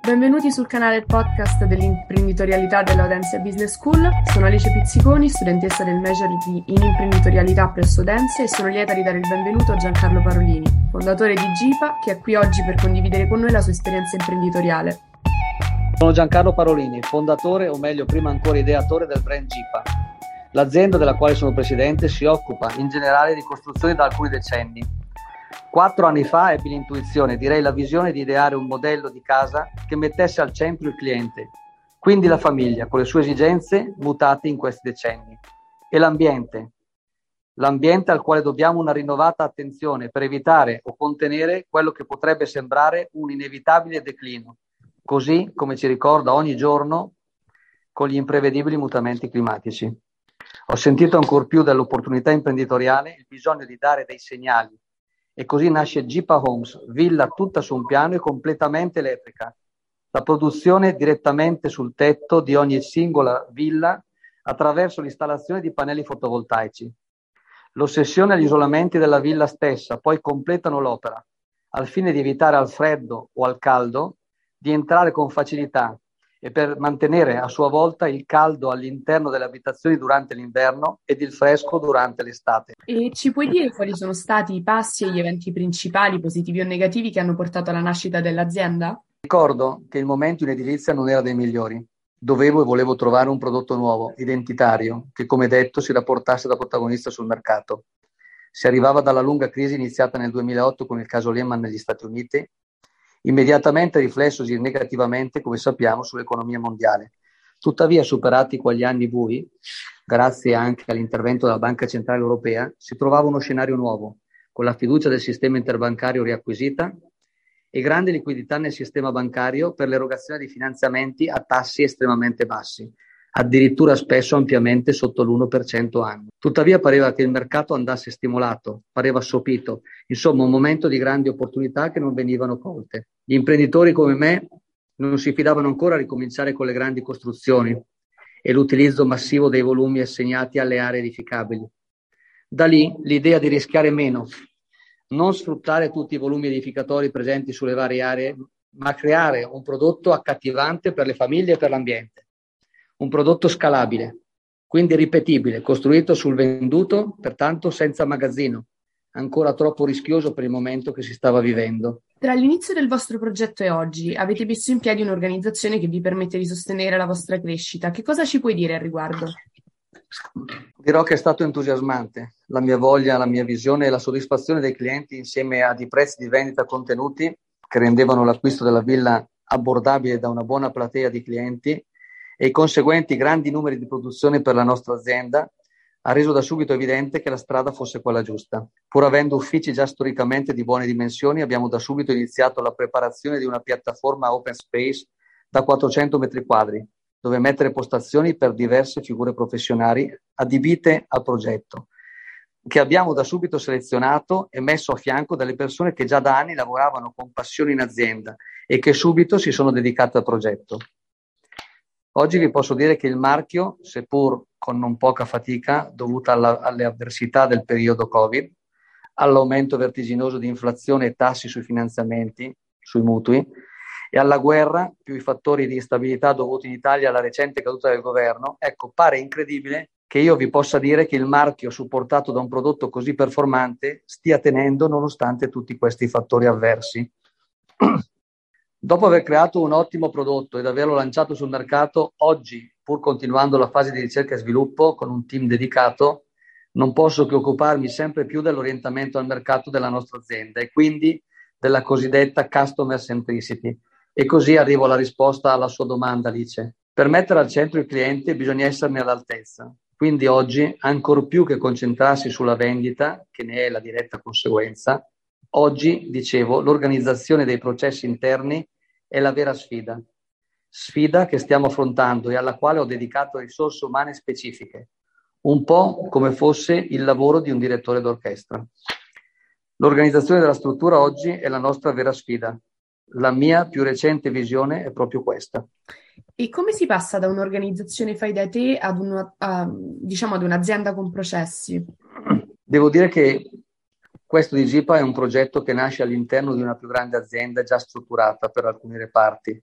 Benvenuti sul canale podcast dell'imprenditorialità della Audencia Business School. Sono Alice Pizziconi, studentessa del Major in imprenditorialità presso Audencia e sono lieta di dare il benvenuto a Giancarlo Parolini, fondatore di GIPA, che è qui oggi per condividere con noi la sua esperienza imprenditoriale. Sono Giancarlo Parolini, fondatore, o meglio prima ancora ideatore del brand GIPA. L'azienda della quale sono presidente si occupa in generale di costruzioni da alcuni decenni. 4 anni fa ebbi l'intuizione, direi la visione, di ideare un modello di casa che mettesse al centro il cliente, quindi la famiglia, con le sue esigenze mutate in questi decenni, e l'ambiente al quale dobbiamo una rinnovata attenzione per evitare o contenere quello che potrebbe sembrare un inevitabile declino, così come ci ricorda ogni giorno con gli imprevedibili mutamenti climatici. Ho sentito ancor più dell'opportunità imprenditoriale il bisogno di dare dei segnali, e così nasce GIPA Homes, villa tutta su un piano e completamente elettrica. La produzione direttamente sul tetto di ogni singola villa attraverso l'installazione di pannelli fotovoltaici. L'ossessione agli isolamenti della villa stessa poi completano l'opera, al fine di evitare al freddo o al caldo di entrare con facilità e per mantenere a sua volta il caldo all'interno delle abitazioni durante l'inverno ed il fresco durante l'estate. E ci puoi dire quali sono stati i passi e gli eventi principali, positivi o negativi, che hanno portato alla nascita dell'azienda? Ricordo che il momento in edilizia non era dei migliori. Dovevo e volevo trovare un prodotto nuovo, identitario, che come detto si rapportasse da protagonista sul mercato. Si arrivava dalla lunga crisi iniziata nel 2008 con il caso Lehman negli Stati Uniti, immediatamente riflessosi negativamente, come sappiamo, sull'economia mondiale. Tuttavia, superati quegli anni bui, grazie anche all'intervento della Banca Centrale Europea, si trovava uno scenario nuovo, con la fiducia del sistema interbancario riacquisita e grande liquidità nel sistema bancario per l'erogazione di finanziamenti a tassi estremamente bassi, addirittura spesso ampiamente sotto l'1% anno. Tuttavia pareva che il mercato andasse stimolato, pareva assopito, insomma un momento di grandi opportunità che non venivano colte. Gli imprenditori come me non si fidavano ancora a ricominciare con le grandi costruzioni e l'utilizzo massivo dei volumi assegnati alle aree edificabili. Da lì l'idea di rischiare meno, non sfruttare tutti i volumi edificatori presenti sulle varie aree, ma creare un prodotto accattivante per le famiglie e per l'ambiente. Un prodotto scalabile, quindi ripetibile, costruito sul venduto, pertanto senza magazzino, ancora troppo rischioso per il momento che si stava vivendo. Tra l'inizio del vostro progetto e oggi avete messo in piedi un'organizzazione che vi permette di sostenere la vostra crescita. Che cosa ci puoi dire al riguardo? Dirò che è stato entusiasmante. La mia voglia, la mia visione e la soddisfazione dei clienti, insieme a dei prezzi di vendita contenuti che rendevano l'acquisto della villa abbordabile da una buona platea di clienti, e i conseguenti grandi numeri di produzione per la nostra azienda, ha reso da subito evidente che la strada fosse quella giusta. Pur avendo uffici già storicamente di buone dimensioni, abbiamo da subito iniziato la preparazione di una piattaforma open space da 400 metri quadri, dove mettere postazioni per diverse figure professionali adibite al progetto, che abbiamo da subito selezionato e messo a fianco dalle persone che già da anni lavoravano con passione in azienda e che subito si sono dedicate al progetto. Oggi vi posso dire che il marchio, seppur con non poca fatica dovuta alle avversità del periodo Covid, all'aumento vertiginoso di inflazione e tassi sui finanziamenti, sui mutui, e alla guerra, più i fattori di instabilità dovuti in Italia alla recente caduta del governo, ecco, pare incredibile che io vi possa dire che il marchio, supportato da un prodotto così performante, stia tenendo nonostante tutti questi fattori avversi. Dopo aver creato un ottimo prodotto ed averlo lanciato sul mercato, oggi, pur continuando la fase di ricerca e sviluppo con un team dedicato, non posso che occuparmi sempre più dell'orientamento al mercato della nostra azienda e quindi della cosiddetta customer centricity. E così arrivo alla risposta alla sua domanda, Alice. Per mettere al centro il cliente bisogna esserne all'altezza. Quindi oggi, ancor più che concentrarsi sulla vendita, che ne è la diretta conseguenza, oggi, dicevo, l'organizzazione dei processi interni è la vera sfida. Sfida che stiamo affrontando e alla quale ho dedicato risorse umane specifiche, un po' come fosse il lavoro di un direttore d'orchestra. L'organizzazione della struttura oggi è la nostra vera sfida. La mia più recente visione è proprio questa. E come si passa da un'organizzazione fai da te ad ad un'azienda con processi? Devo dire che questo di GIPA è un progetto che nasce all'interno di una più grande azienda già strutturata per alcuni reparti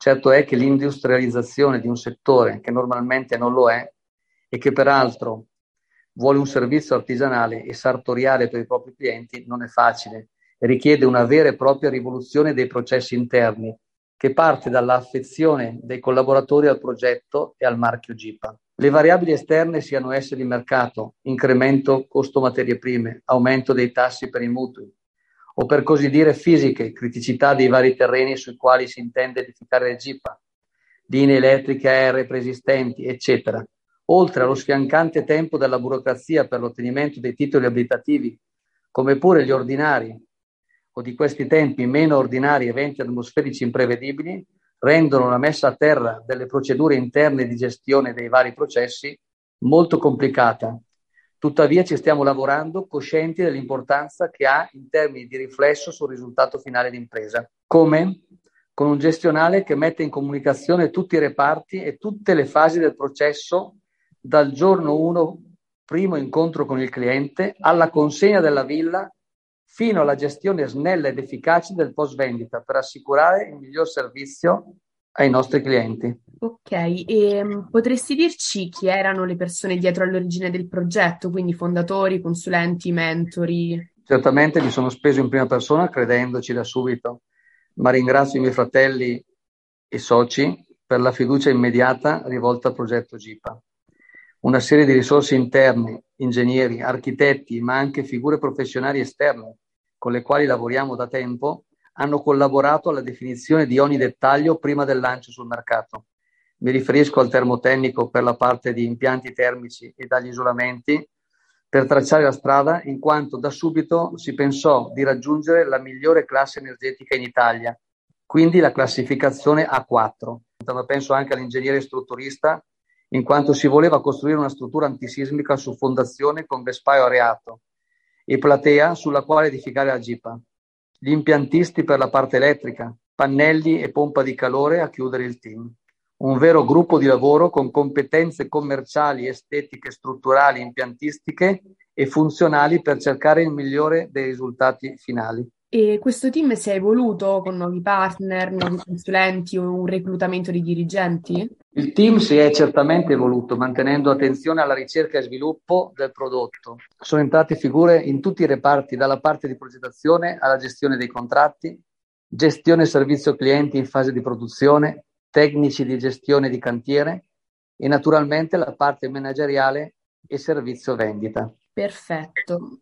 Certo è che l'industrializzazione di un settore che normalmente non lo è e che peraltro vuole un servizio artigianale e sartoriale per i propri clienti non è facile e richiede una vera e propria rivoluzione dei processi interni che parte dall'affezione dei collaboratori al progetto e al marchio GIPA. Le variabili esterne siano esse di mercato, incremento costo materie prime, aumento dei tassi per i mutui, o per così dire fisiche, criticità dei vari terreni sui quali si intende edificare il GIPA, linee elettriche aeree preesistenti, eccetera, oltre allo sfiancante tempo della burocrazia per l'ottenimento dei titoli abilitativi, come pure gli ordinari, o di questi tempi meno ordinari eventi atmosferici imprevedibili, rendono la messa a terra delle procedure interne di gestione dei vari processi molto complicata. Tuttavia ci stiamo lavorando coscienti dell'importanza che ha in termini di riflesso sul risultato finale d'impresa. Come? Con un gestionale che mette in comunicazione tutti i reparti e tutte le fasi del processo dal giorno 1, primo incontro con il cliente, alla consegna della villa, fino alla gestione snella ed efficace del post vendita per assicurare il miglior servizio ai nostri clienti. Ok, e potresti dirci chi erano le persone dietro all'origine del progetto, quindi fondatori, consulenti, mentori? Certamente mi sono speso in prima persona credendoci da subito, ma ringrazio i miei fratelli e soci per la fiducia immediata rivolta al progetto GIPA. Una serie di risorse interne, ingegneri, architetti, ma anche figure professionali esterne con le quali lavoriamo da tempo, hanno collaborato alla definizione di ogni dettaglio prima del lancio sul mercato. Mi riferisco al termotecnico per la parte di impianti termici e dagli isolamenti per tracciare la strada, in quanto da subito si pensò di raggiungere la migliore classe energetica in Italia, quindi la classificazione A4. Ma penso anche all'ingegnere strutturista, in quanto si voleva costruire una struttura antisismica su fondazione con vespaio areato e platea sulla quale edificare la GIPA. Gli impiantisti per la parte elettrica, pannelli e pompa di calore a chiudere il team. Un vero gruppo di lavoro con competenze commerciali, estetiche, strutturali, impiantistiche e funzionali per cercare il migliore dei risultati finali. E questo team si è evoluto con nuovi partner, nuovi consulenti o un reclutamento di dirigenti? Il team si è certamente evoluto, mantenendo attenzione alla ricerca e sviluppo del prodotto. Sono entrate figure in tutti i reparti, dalla parte di progettazione alla gestione dei contratti, gestione servizio clienti in fase di produzione, tecnici di gestione di cantiere e naturalmente la parte manageriale e servizio vendita. Perfetto.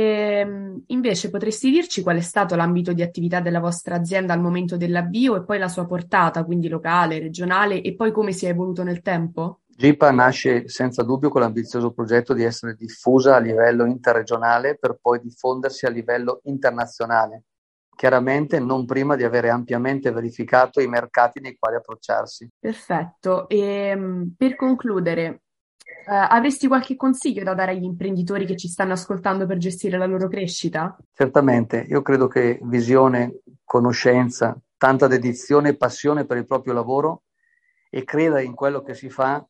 E invece potresti dirci qual è stato l'ambito di attività della vostra azienda al momento dell'avvio e poi la sua portata, quindi locale, regionale, e poi come si è evoluto nel tempo? GIPA nasce senza dubbio con l'ambizioso progetto di essere diffusa a livello interregionale per poi diffondersi a livello internazionale, chiaramente non prima di avere ampiamente verificato i mercati nei quali approcciarsi. Perfetto. E per concludere, avresti qualche consiglio da dare agli imprenditori che ci stanno ascoltando per gestire la loro crescita? Certamente, io credo che visione, conoscenza, tanta dedizione e passione per il proprio lavoro e credere in quello che si fa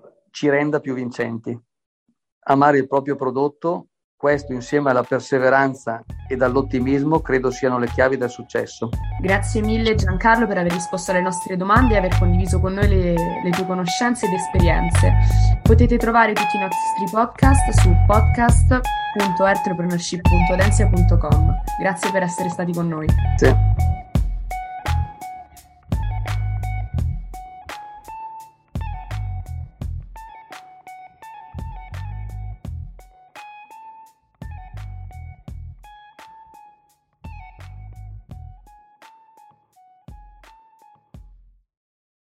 ci renda più vincenti. Amare il proprio prodotto, questo insieme alla perseveranza e all'ottimismo credo siano le chiavi del successo. Grazie mille Giancarlo per aver risposto alle nostre domande e aver condiviso con noi le tue conoscenze ed esperienze. Potete trovare tutti i nostri podcast su podcast.entrepreneurship.audenzia.com. Grazie per essere stati con noi. Sì.